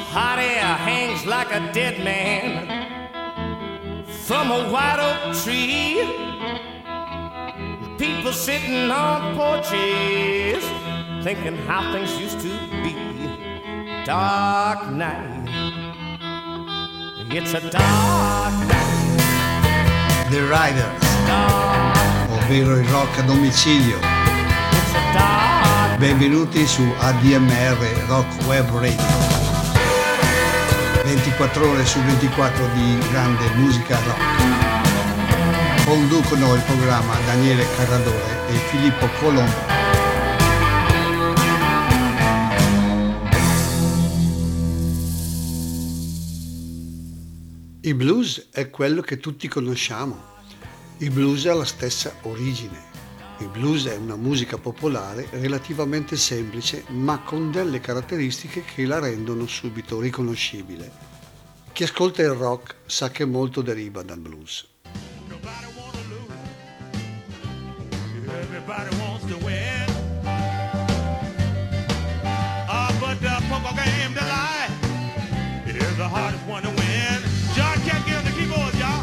hot air hangs like a dead man from a white oak tree. People sitting on porches thinking how things used to be. Dark night, it's a dark night. The Riders, ovvero il rock a domicilio. It's a dark. Benvenuti su ADMR Rock Web Radio. 24 ore su 24 di grande musica rock. Conducono il programma Daniele Carradore e Filippo Colombo. Il blues è quello che tutti conosciamo. Il blues ha la stessa origine. Il blues è una musica popolare relativamente semplice, ma con delle caratteristiche che la rendono subito riconoscibile. Chi ascolta il rock sa che molto deriva dal blues. Everybody wants to win. But the poker game to lie. It is the hardest one to win. John can't get on the keyboard, y'all.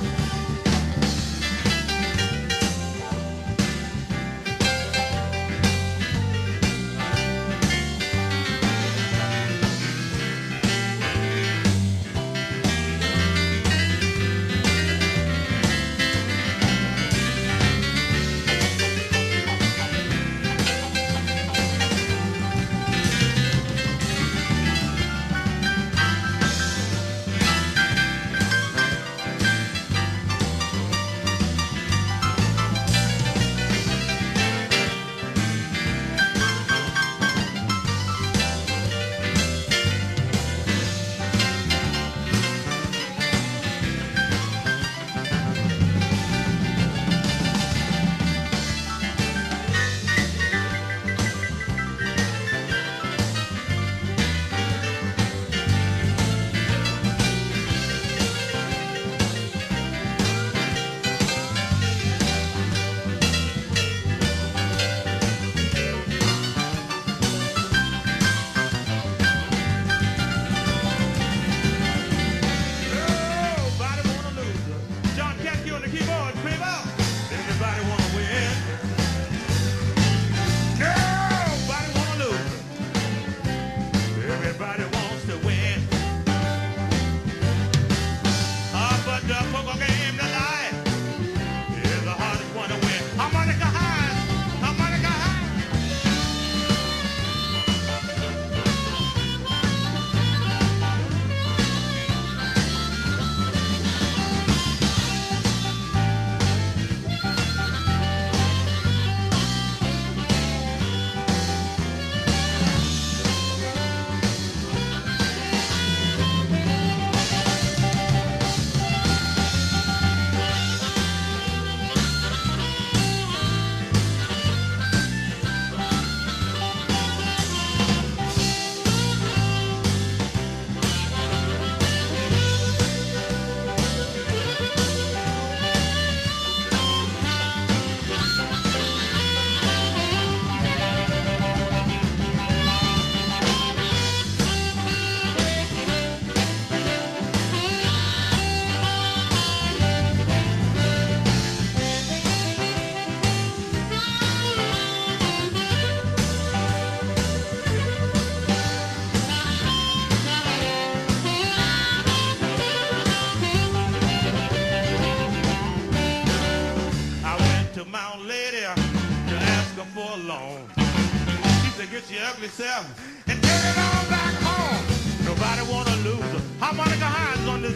And take it on back home. Nobody wanna lose. Harmonica Hines on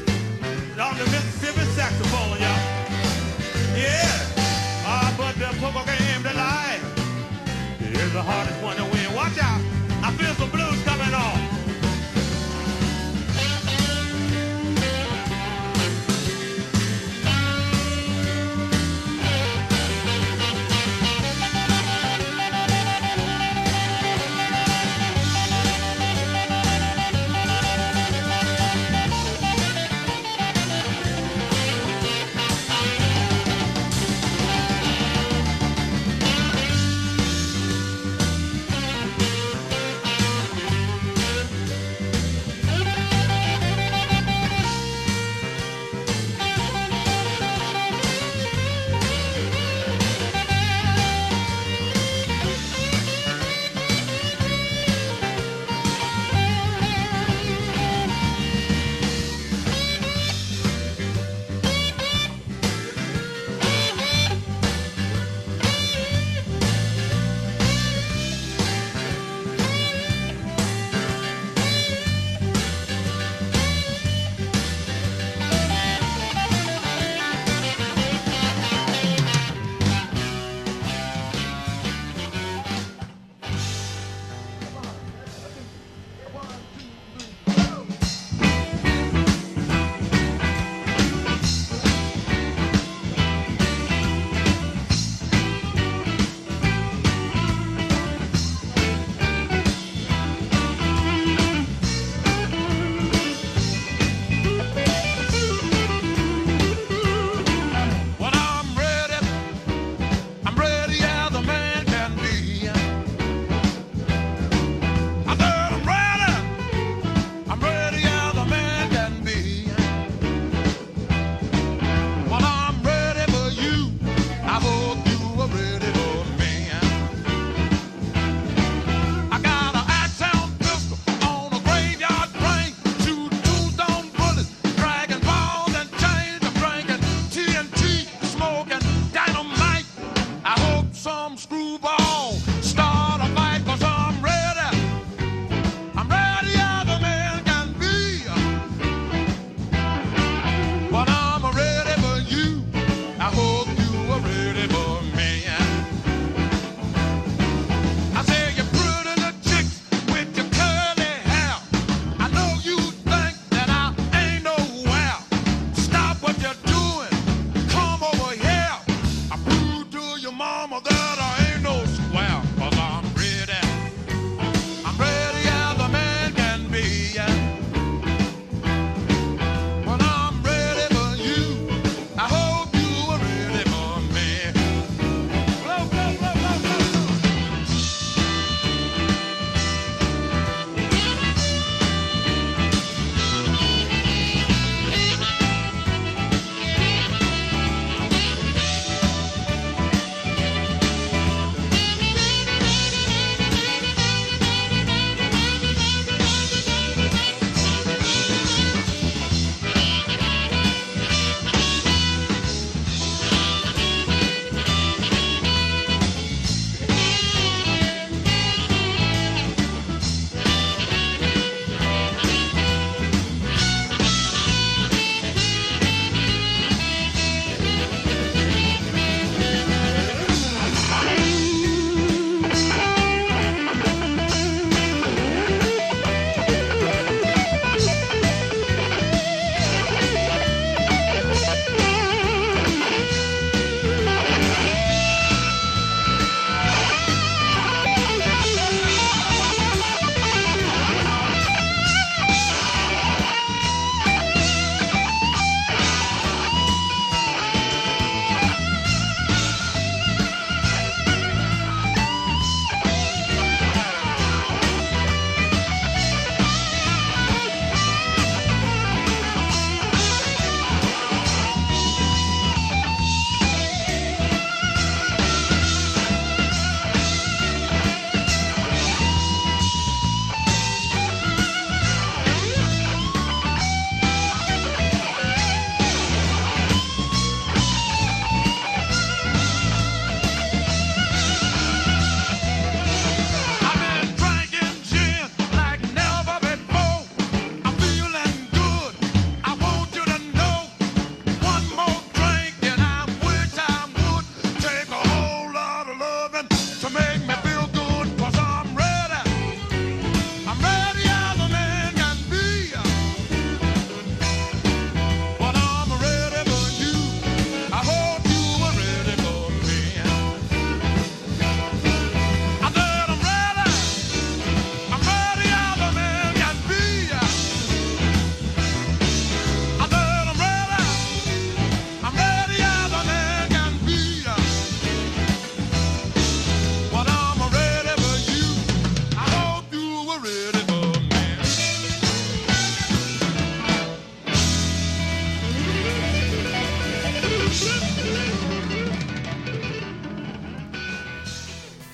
the Mississippi saxophone, y'all. Yeah. But the poker game tonight is the hardest one to win. Watch out. I feel some blues coming on.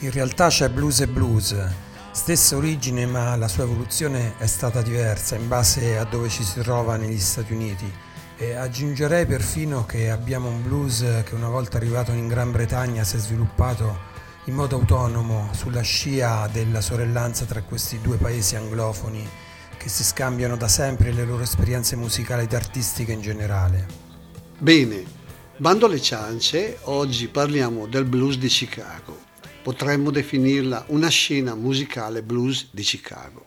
In realtà c'è blues e blues, stessa origine ma la sua evoluzione è stata diversa in base a dove ci si trova negli Stati Uniti, e aggiungerei perfino che abbiamo un blues che una volta arrivato in Gran Bretagna si è sviluppato in modo autonomo sulla scia della sorellanza tra questi due paesi anglofoni che si scambiano da sempre le loro esperienze musicali ed artistiche in generale. Bene, bando alle ciance, oggi parliamo del blues di Chicago. Potremmo definirla una scena musicale blues di Chicago.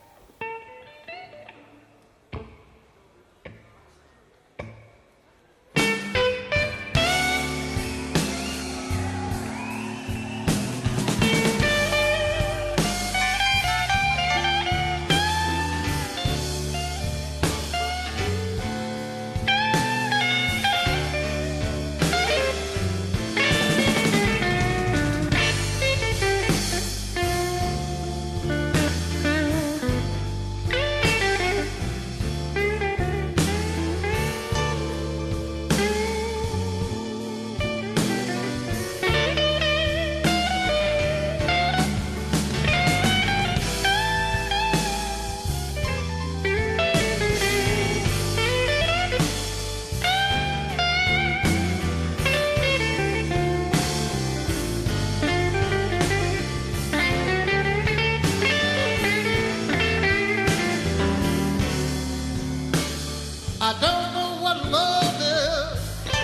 I don't know what love is,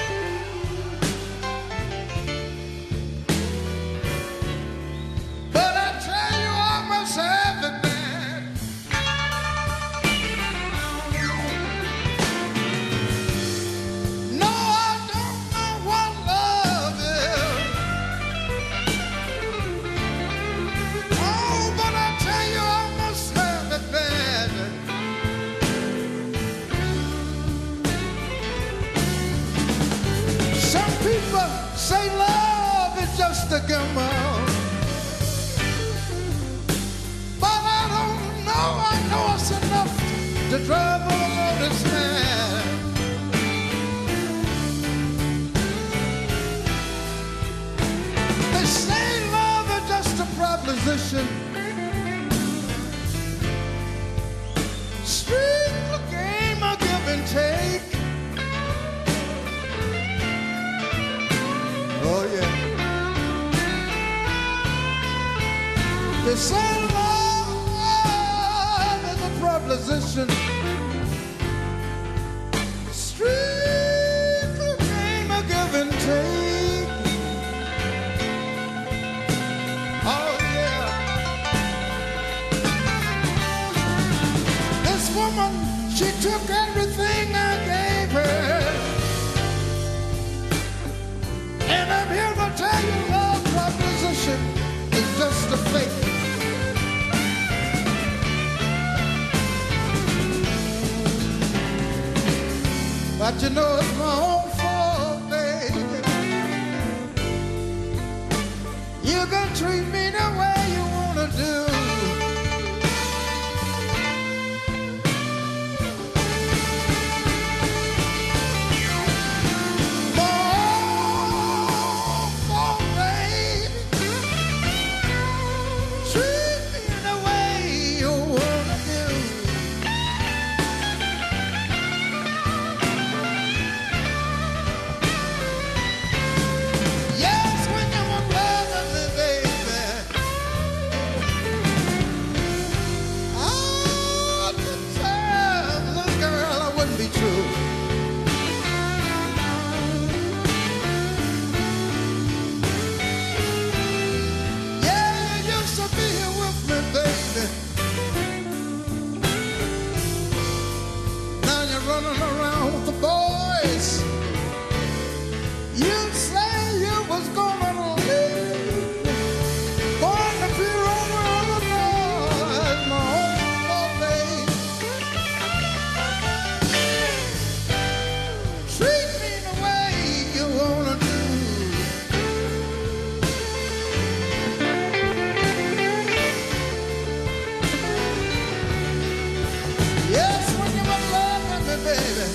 but I tell you I must have it bad. No, I don't know what love is. Oh, but I tell you I must have it bad. Some people say love is just a gamble, but I don't know. I know it's enough to drive a lotus man. They say love is just a proposition, strictly game of give and take. Oh yeah. They say love is a proposition, strictly game of give and take. Oh yeah. This woman, she took everything I gave her. And I'm here to tell you love proposition is just a fake. But you know it's my own fault, baby. You can treat me the way you wanna do. Running around with the boys. You say you was gonna leave, going to be over the noise, my own babe. Treat me the way you wanna do. Yes, when you were loving me, baby.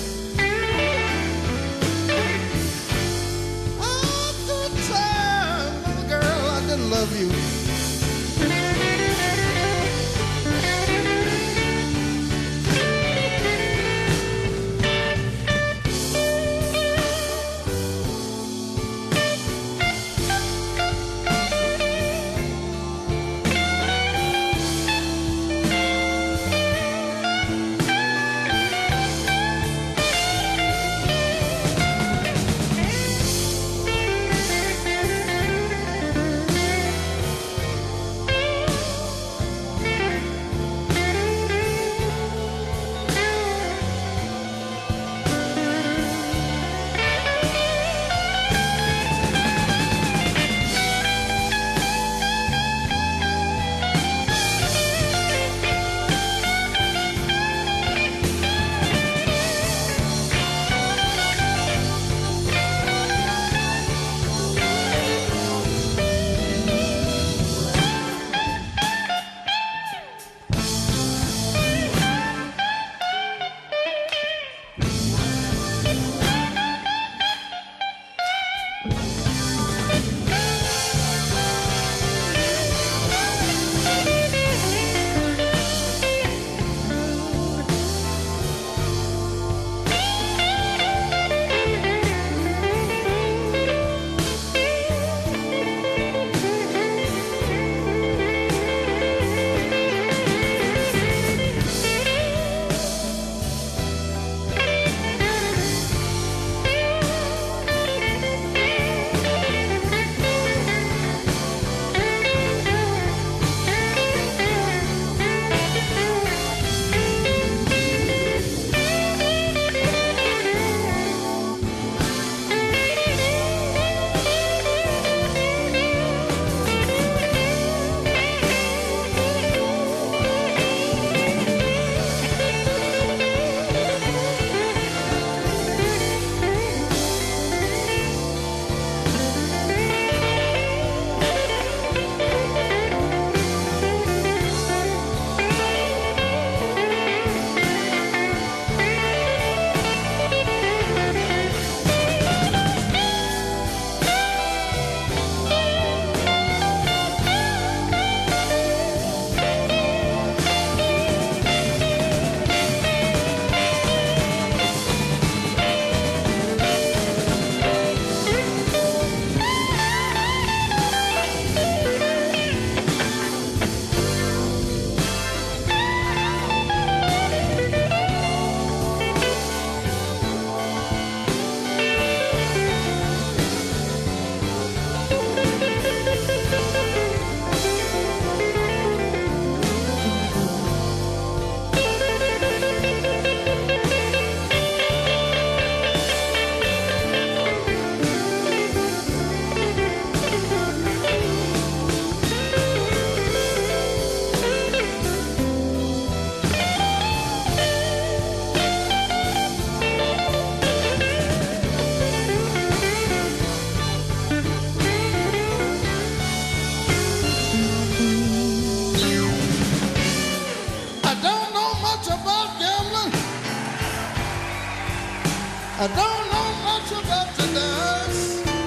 I don't know much about the dance.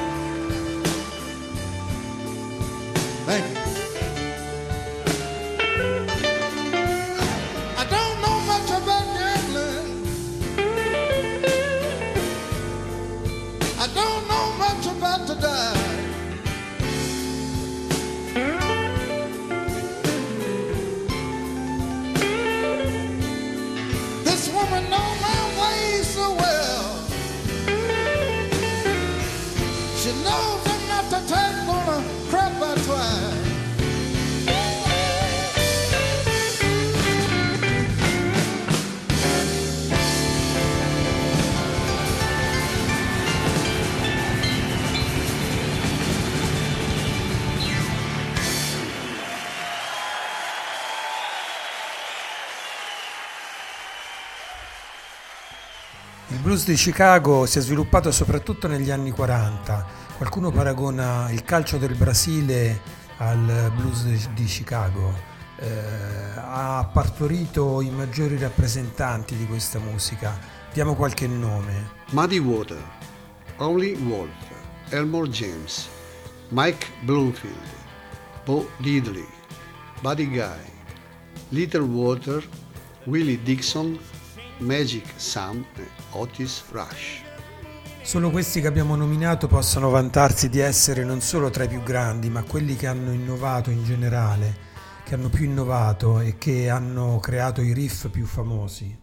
Thank you. I don't know much about gambling. I don't know much about the dive. This woman knows my ways so well. She knows I'm not the type gonna crap I try. Il blues di Chicago si è sviluppato soprattutto negli anni 40. Qualcuno paragona il calcio del Brasile al blues di Chicago. Ha partorito i maggiori rappresentanti di questa musica. Diamo qualche nome. Muddy Water, Howlin' Wolf, Elmore James, Mike Bloomfield, Bo Diddley, Buddy Guy, Little Walter, Willie Dixon, Magic Sam e Otis Rush. Solo questi che abbiamo nominato possono vantarsi di essere non solo tra i più grandi, ma quelli che hanno innovato in generale, che hanno più innovato e che hanno creato i riff più famosi.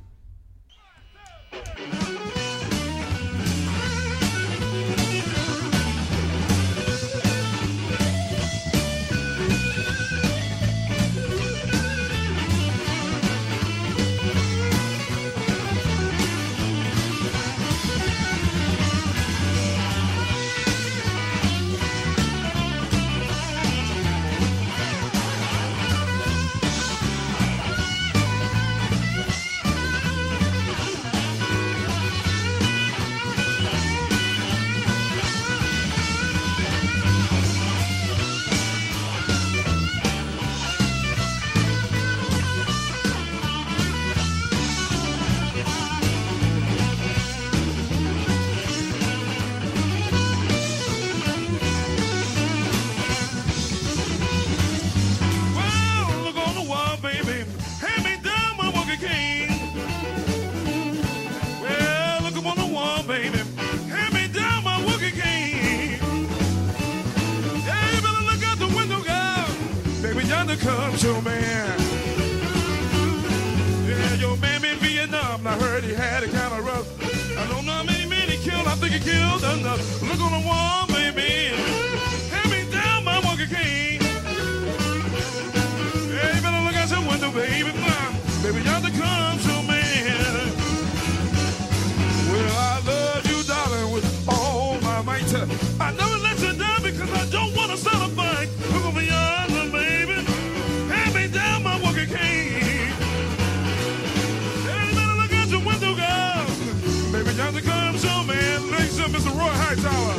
Comes your man. Yeah, your man been in Vietnam. I heard he had it kind of rough. I don't know how many men he killed. I think he killed enough. Look on the wall, baby. Hand me down my walking cane. Yeah, you better look out your window, baby. Baby, yonder comes your man. Well, I love you, darling, with all my might. I never let you down because I don't want to start a fight. Look over yonder, baby. Hand me down my walking cane. Yeah, you better look out your window, girl. Baby, yonder comes your man. Ladies and Mr. Roy Hightower.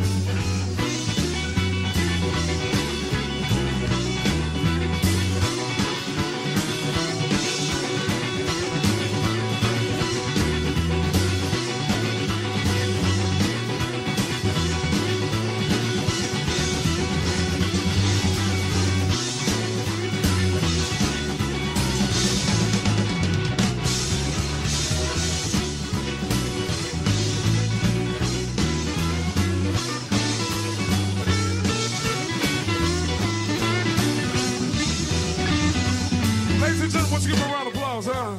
Ladies and gentlemen, let's give him a round of applause, huh?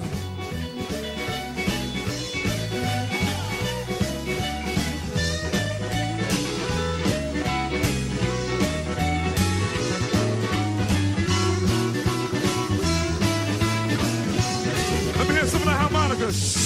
Let me hear some of the harmonicas.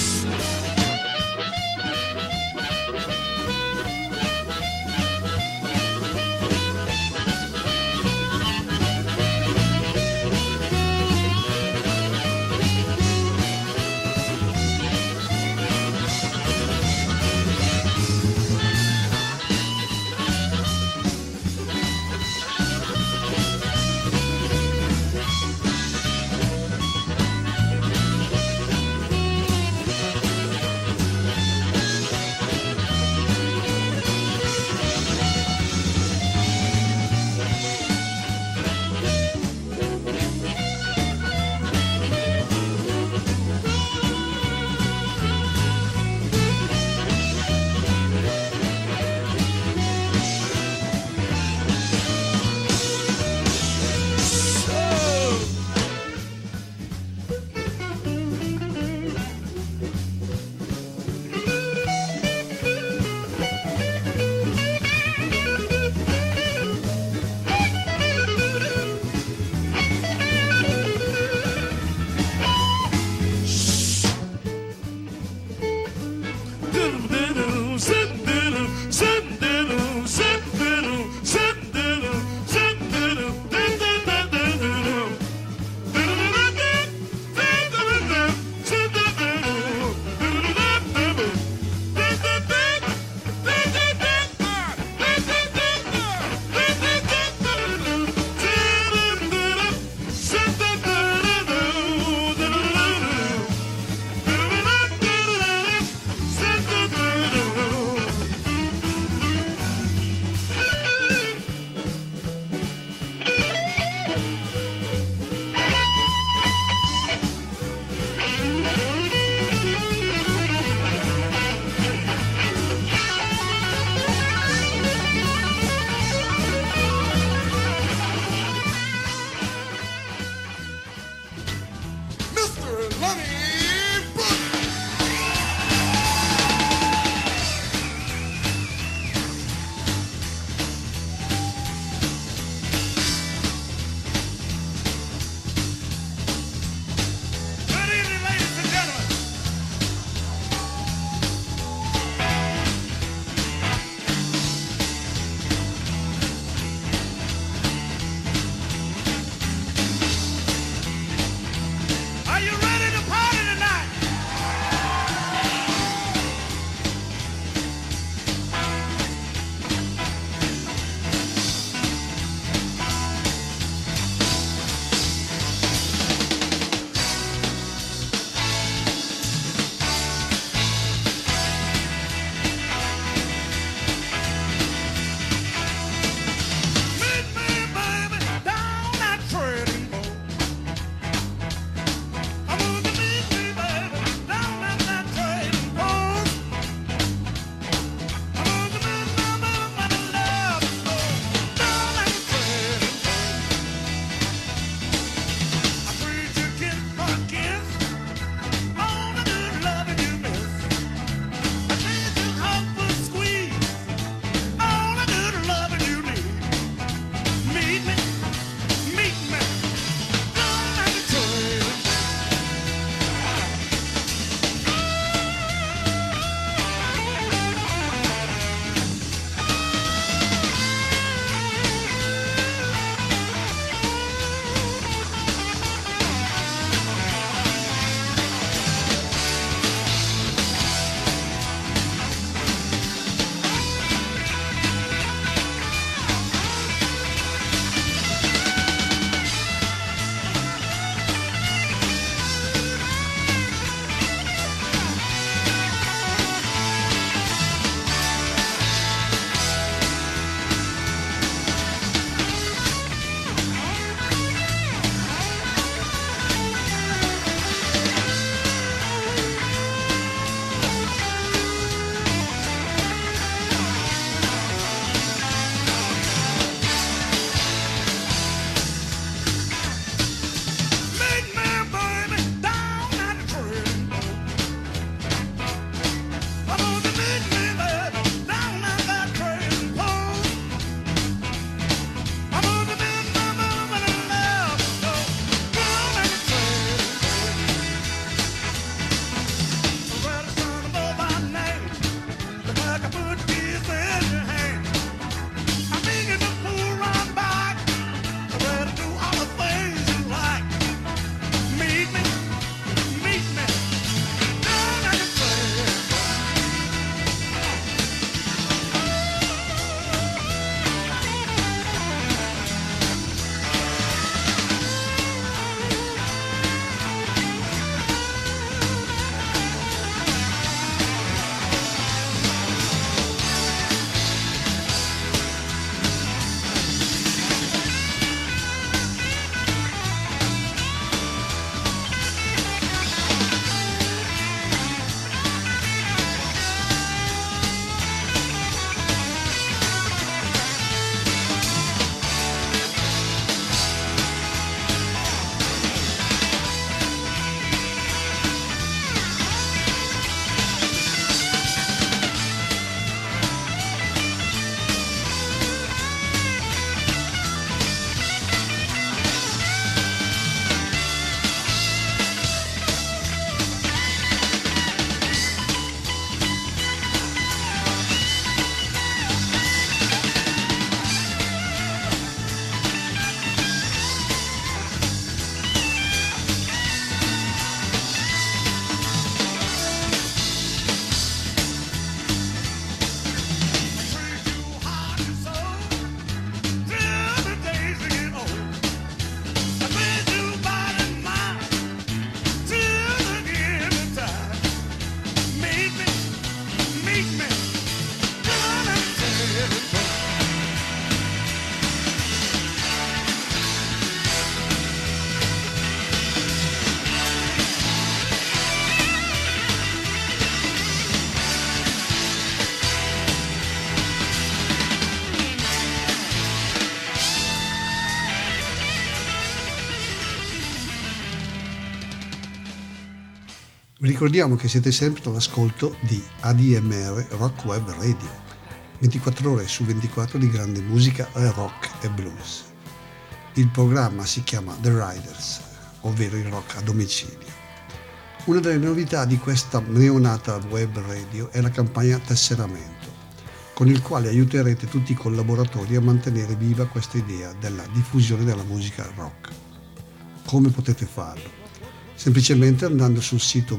Vi ricordiamo che siete sempre all'ascolto di ADMR Rock Web Radio, 24 ore su 24 di grande musica rock e blues. Il programma si chiama The Riders, ovvero il rock a domicilio. Una delle novità di questa neonata web radio è la campagna Tesseramento, con il quale aiuterete tutti i collaboratori a mantenere viva questa idea della diffusione della musica rock. Come potete farlo? Semplicemente andando sul sito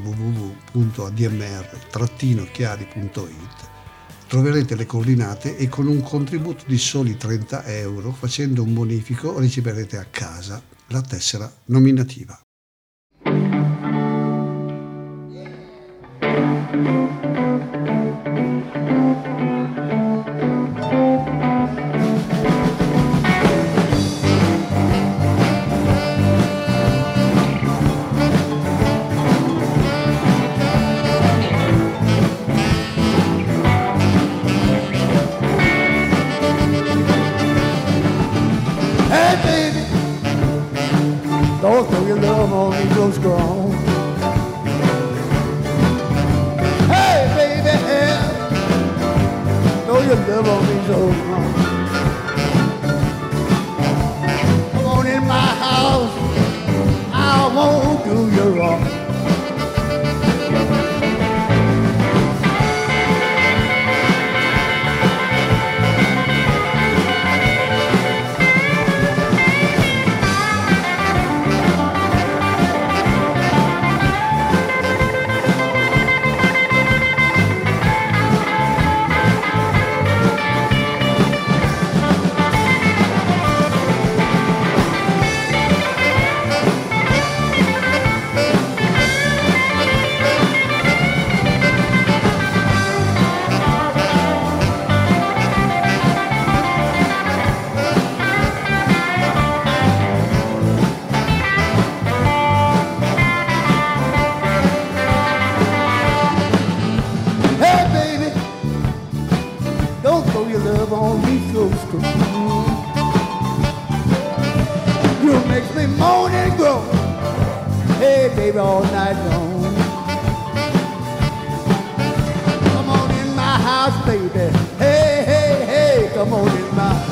www.admr-chiari.it troverete le coordinate e con un contributo di soli 30 euro, facendo un bonifico, riceverete a casa la tessera nominativa. Don't throw your love on me so strong. Hey, baby, throw your love on me so strong. Come on in my house, I won't do you wrong. You makes me moan and groan. Hey, baby, all night long. Come on in my house, baby. Hey, hey, hey, come on in my house.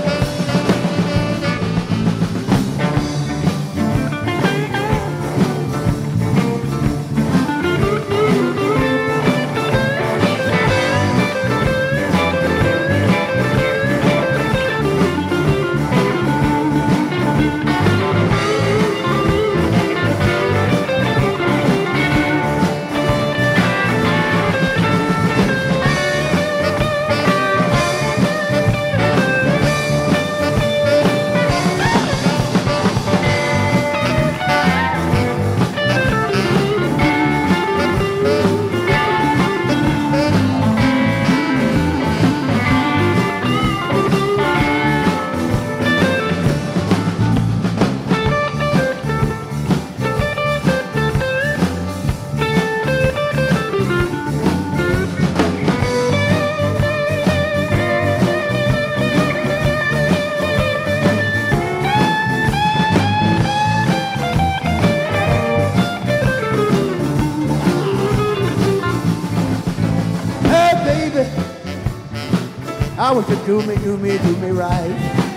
I want you to do me right.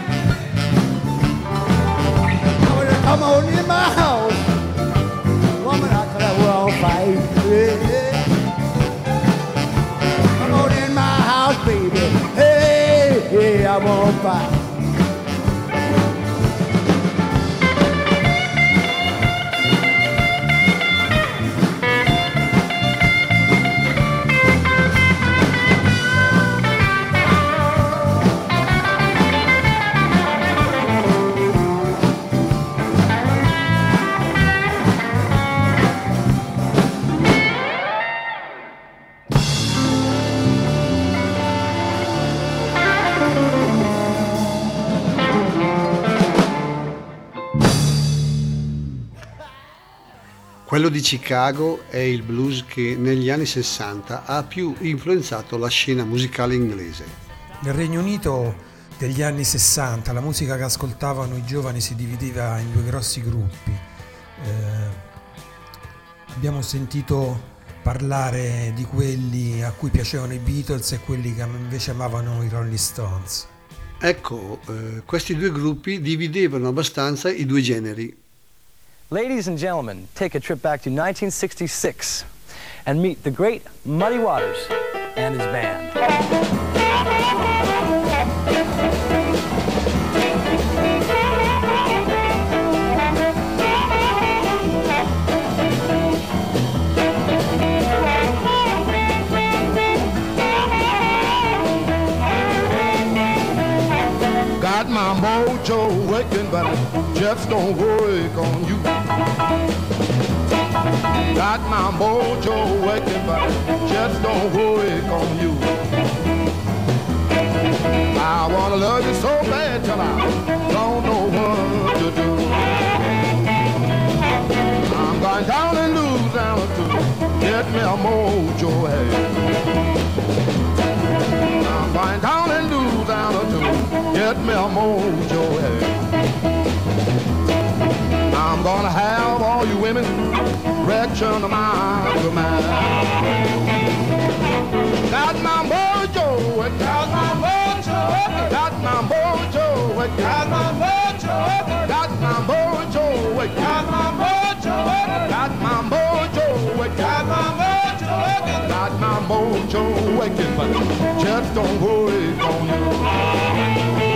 I want you to come on in my house. Woman, I could have all fight. Yeah. Come on in my house, baby. Hey, hey, I won't fight. Quello di Chicago è il blues che negli anni 60 ha più influenzato la scena musicale inglese. Nel Regno Unito degli anni 60 la musica che ascoltavano i giovani si divideva in due grossi gruppi. Abbiamo sentito parlare di quelli a cui piacevano i Beatles e quelli che invece amavano i Rolling Stones. Ecco, questi due gruppi dividevano abbastanza i due generi. Ladies and gentlemen, take a trip back to 1966 and meet the great Muddy Waters and his band. Got my mojo working, but it just don't work on you. Got my mojo working, but it just don't work on you. I wanna love you so bad till I don't know what to do. I'm going down in Louisiana to get me a mojo head. I'm going down in Louisiana to get me a mojo head. I'm gonna have all you women direction of my command. Got my mojo, got my mojo, got my mojo, got my mojo, got my mojo, got my mojo, got my mojo, got my mojo, got my mojo waking, but just don't worry on you.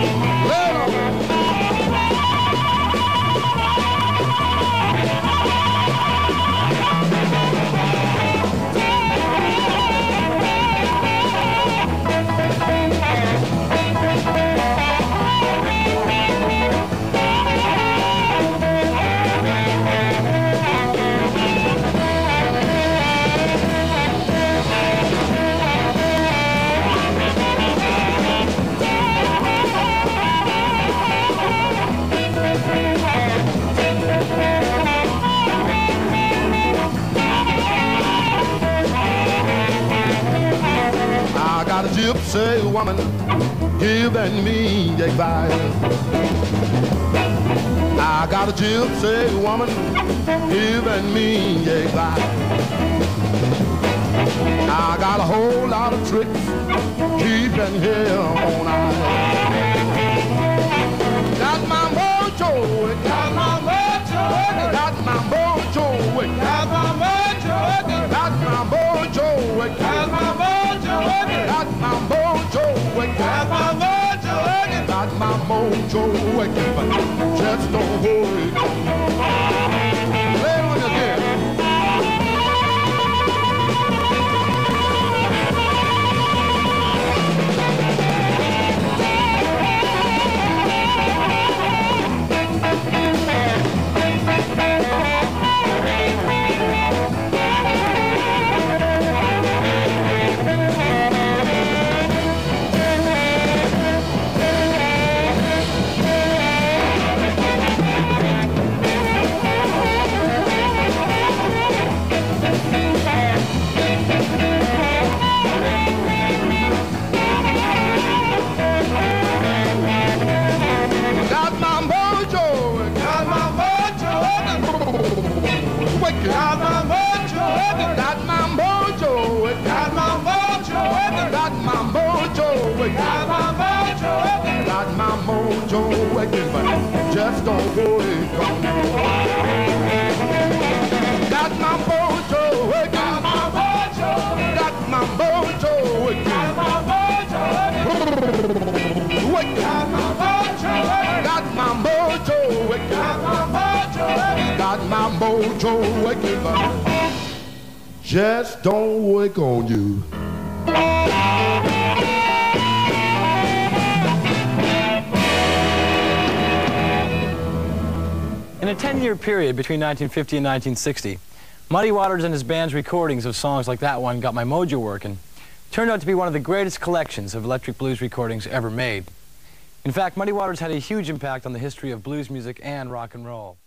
Got a gypsy woman giving me advice. I got a gypsy woman giving me advice. I got a whole lot of tricks keeping here on ice. Got my mojo, got my mojo, got my mojo, got my mojo, got my mojo, got my mojo. Got my mojo waking, got my mojo waking, got my mojo waking, but just don't worry. Play it again. Got my mojo, got my mojo, got my mojo, got my mojo, got my mojo, got my mojo waking, but just don't worry, come got my mojo, got my mojo, got my mojo, got my mojo, got my mojo, got my mojo, got my mojo, got my mojo waking, but just don't wake on you. In a 10-year period between 1950 and 1960, Muddy Waters and his band's recordings of songs like that one, Got My Mojo Workin', turned out to be one of the greatest collections of electric blues recordings ever made. In fact, Muddy Waters had a huge impact on the history of blues music and rock and roll.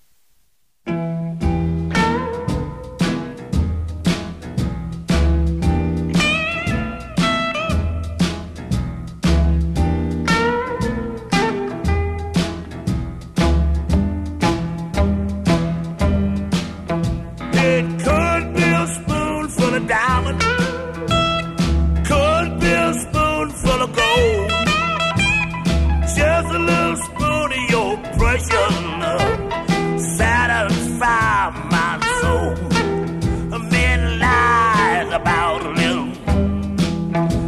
It could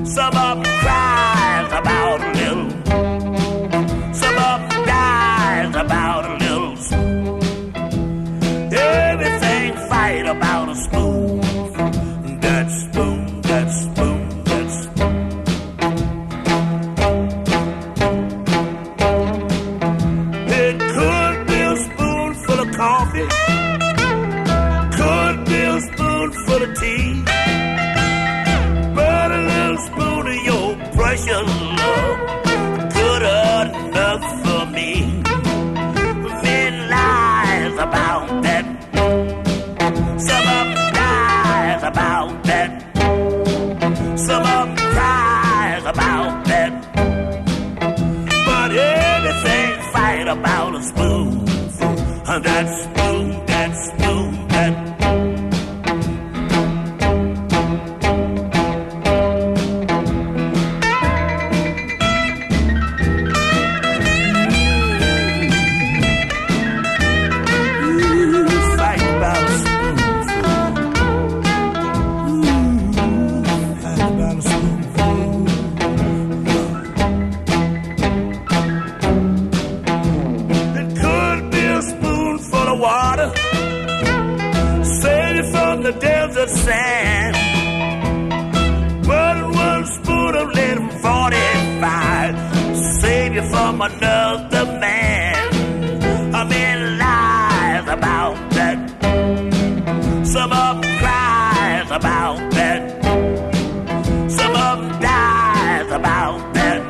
Some of them cries about a little. Some of them dies about a little spoon. Everything fight about a spoon. That spoon, that spoon, that spoon. It could be a spoonful of coffee. Could be a spoonful of tea. But a little spoon of your precious love good enough for me. Men lies about that. Some of them dies about that. Some of them cries about that. But everything fight about a spoon. That spoon, that spoon, that. Sand, but one spoon of little 45 save you from another man. A man lies about that. Some of them cries about that. Some of them dies about that.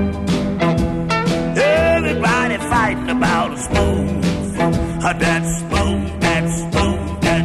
Everybody fighting about a spoon. That spoon, that spoon, that.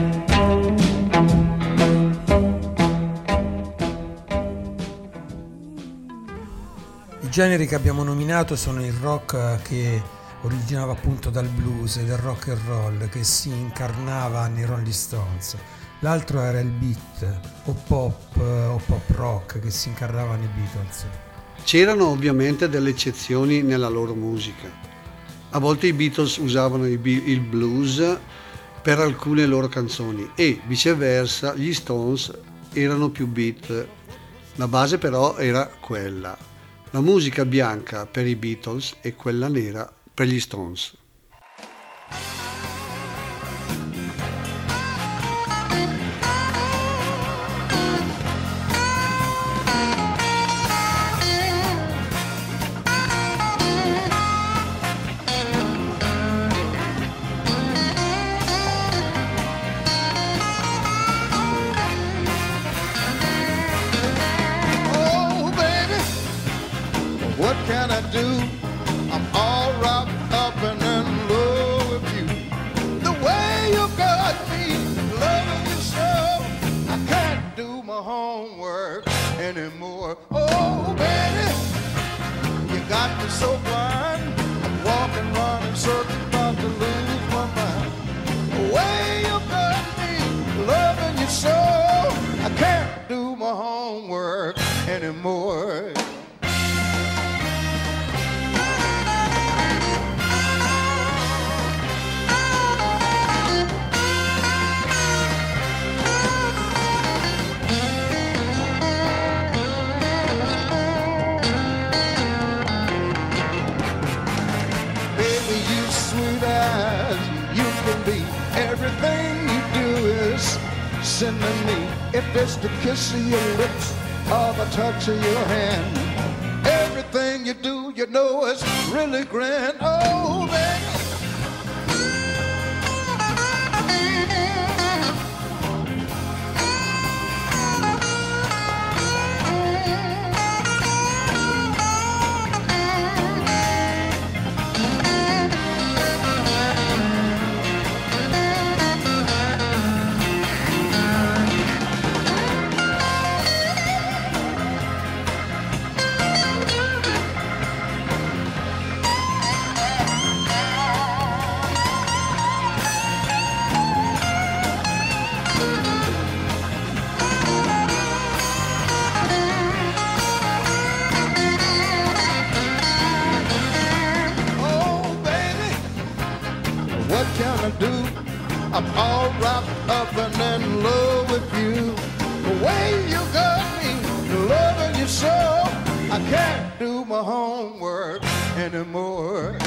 I generi che abbiamo nominato sono il rock che originava appunto dal blues e dal rock and roll che si incarnava nei Rolling Stones. L'altro era il beat o pop rock che si incarnava nei Beatles. C'erano ovviamente delle eccezioni nella loro musica. A volte i Beatles usavano il blues per alcune loro canzoni e viceversa gli Stones erano più beat. La base però era quella. La musica bianca per i Beatles e quella nera per gli Stones. What can I do? I'm all wrapped up and in love with you. The way you got me, loving you so, I can't do my homework anymore. Oh, baby, you got me so blind. I'm walking, running, circling, about to lose my mind. The way you got me, loving you so, I can't do my homework anymore. Everything you do is sin to me. If it's the kiss of your lips or the touch of your hand, everything you do, you know it's really grand. Oh, baby. I'm all wrapped up and in love with you. The way you got me, loving you so, do my homework anymore.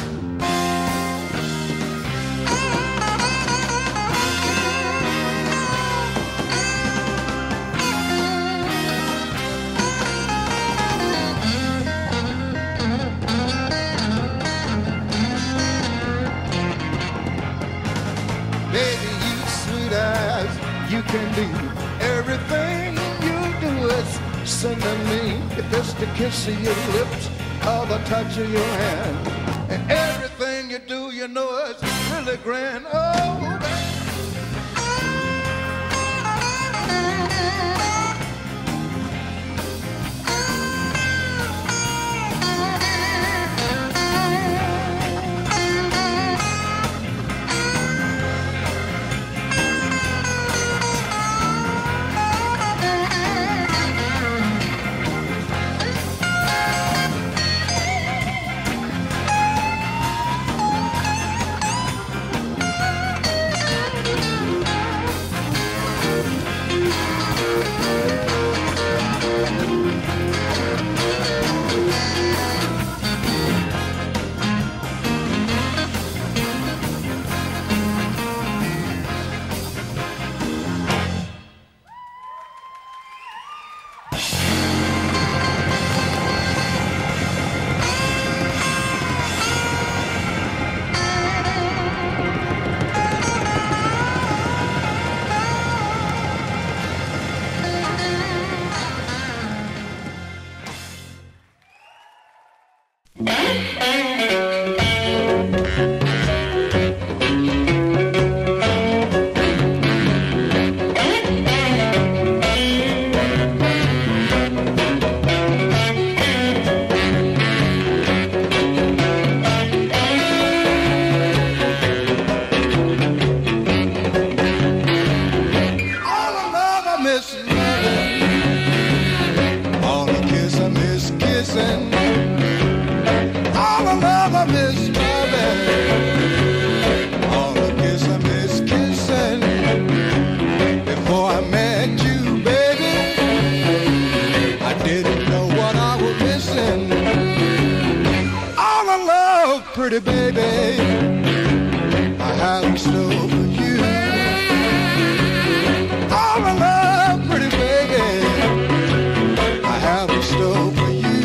Baby, you sweet eyes, you can do everything you do is sing to me. If it's the kiss of your lips or the touch of your hand, and everything you do, you know it's really grand. Oh, baby. Pretty baby, I have in store for you. All the love, pretty baby, I have in store for you.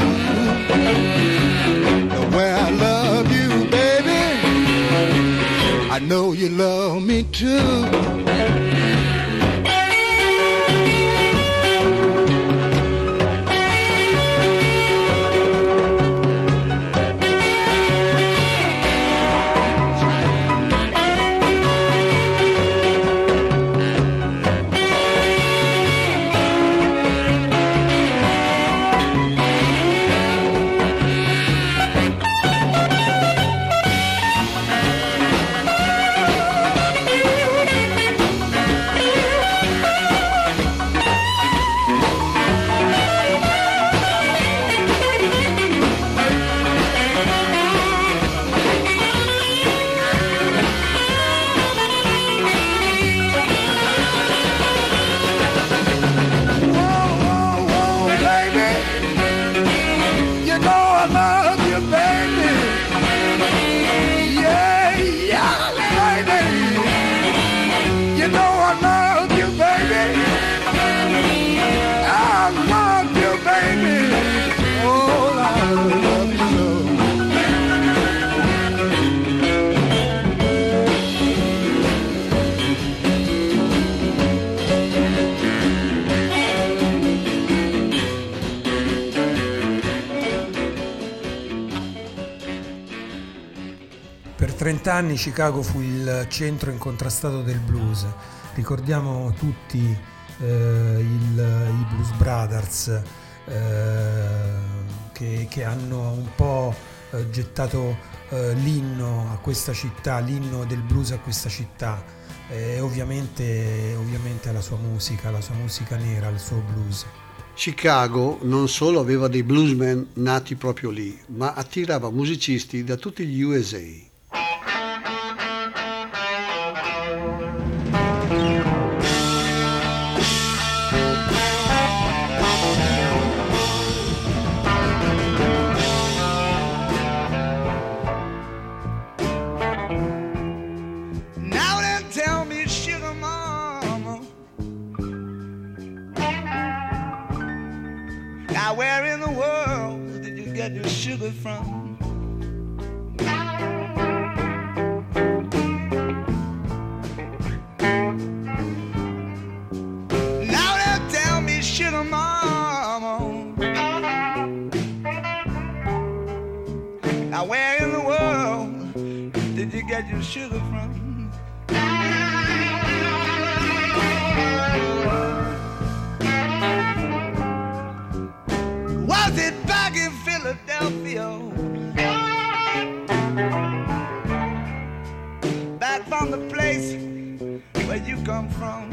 The way I love you, baby, I know you love me too. Per 30 anni Chicago fu il centro incontrastato del blues. Ricordiamo tutti i Blues Brothers che hanno un po' gettato l'inno a questa città, l'inno del blues a questa città, e ovviamente alla sua musica nera, al suo blues. Chicago non solo aveva dei bluesmen nati proprio lì, ma attirava musicisti da tutti gli USA. Now where in the world did you get your sugar from? Now they tell me sugar mama. Now where in the world did you get your sugar from? Was it back in Philadelphia? Back from the place where you come from?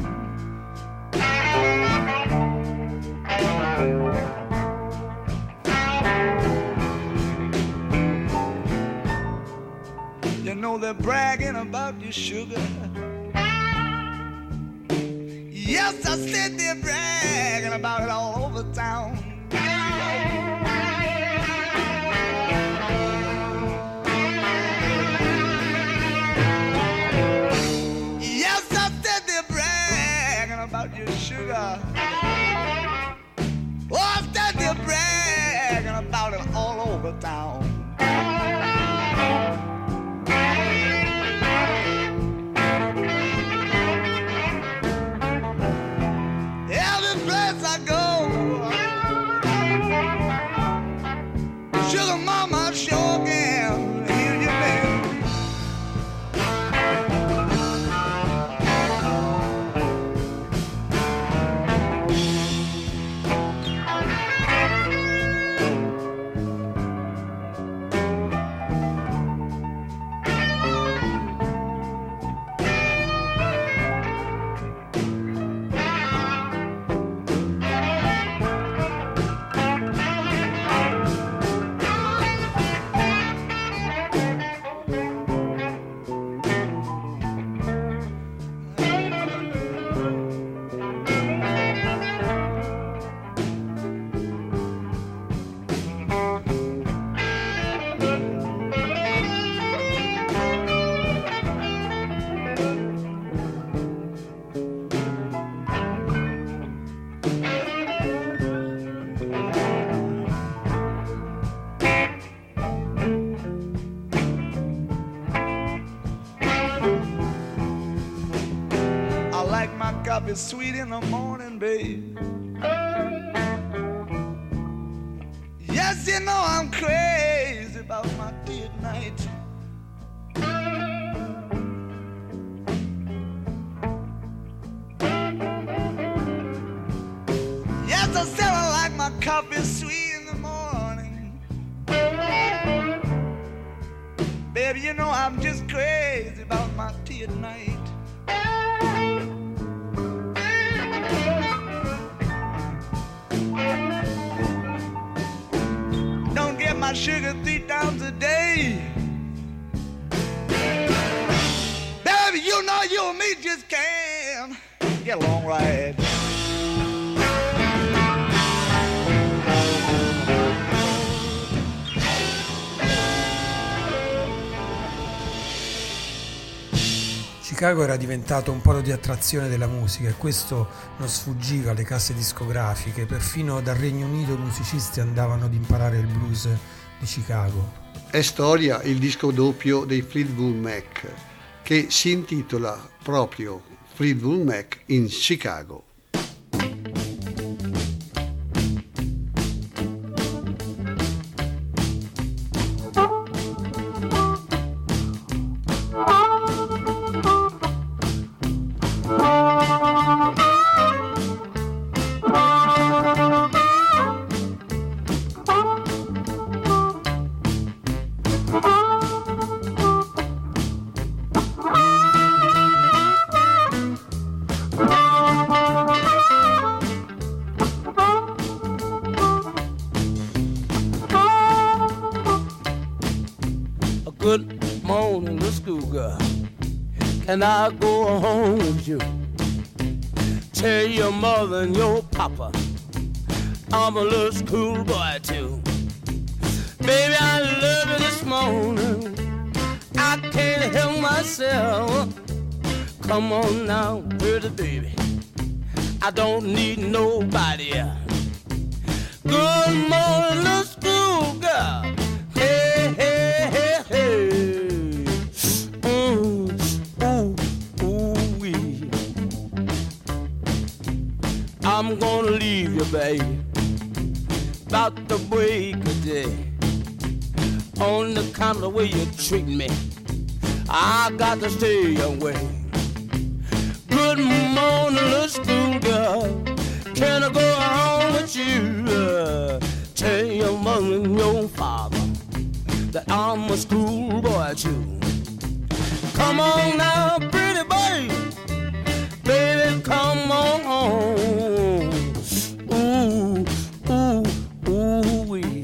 You know they're bragging about your sugar. Yes, I said they're bragging about it all over town. Yes, I said they're bragging about your sugar. Oh, I said they're bragging about it all over town. Every place I go, sugar mama sure can hear you name. Coffee sweet in the morning, babe. Yes, you know I'm crazy about my tea at night. Yes, I said I like my coffee sweet in the morning. Baby, you know I'm just crazy about my tea at night. Don't get my sugar 3 times a day. Baby, you know you and me just can't get along right. Chicago era diventato un polo di attrazione della musica e questo non sfuggiva alle case discografiche. Perfino dal Regno Unito musicisti andavano ad imparare il blues di Chicago. È storia il disco doppio dei Fleetwood Mac, che si intitola proprio Fleetwood Mac in Chicago. Good morning, little schoolgirl. Can I go home with you? Tell your mother and your papa I'm a little schoolboy too. Baby, I love you this morning. I can't help myself. Come on now, pretty baby. I don't need nobody else. Good about to break a day. On the kind of the way you treat me, I got to stay away. Good morning, little school girl. Can I go home with you? Tell your mother and your father that I'm a schoolboy too. Come on now, pretty baby, baby, come on home. Ooh, ooh, ooh, wee.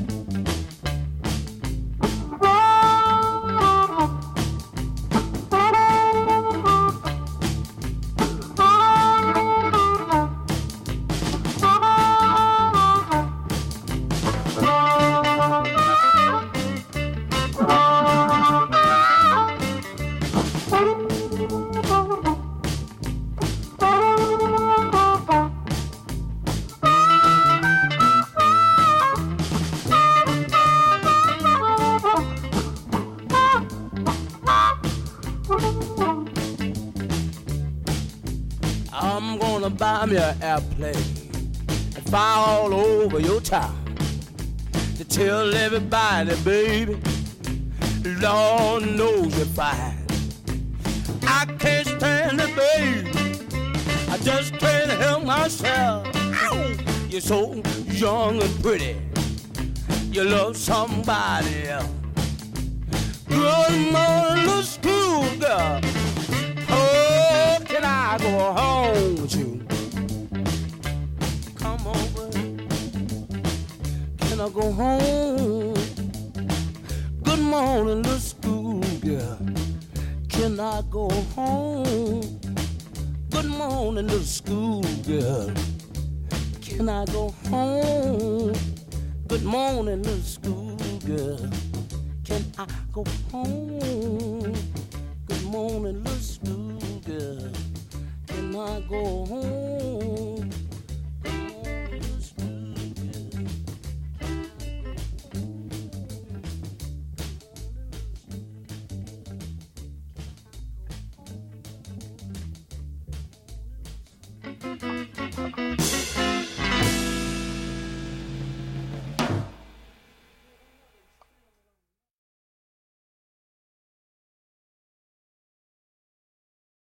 Buy me an airplane and fly all over your town to tell everybody, baby, Lord knows you're fine. I can't stand it, baby, I just can't help myself. Ow! You're so young and pretty, you love somebody else. Good morning, little school girl. Oh, can I go home with you? Come over. Can I go home? Good morning, little school girl. Can I go home? Good morning, little school girl. Can I go home? Good morning, little school girl. Can I go home? Good morning, little school girl. Can I go home? Good morning, little school girl.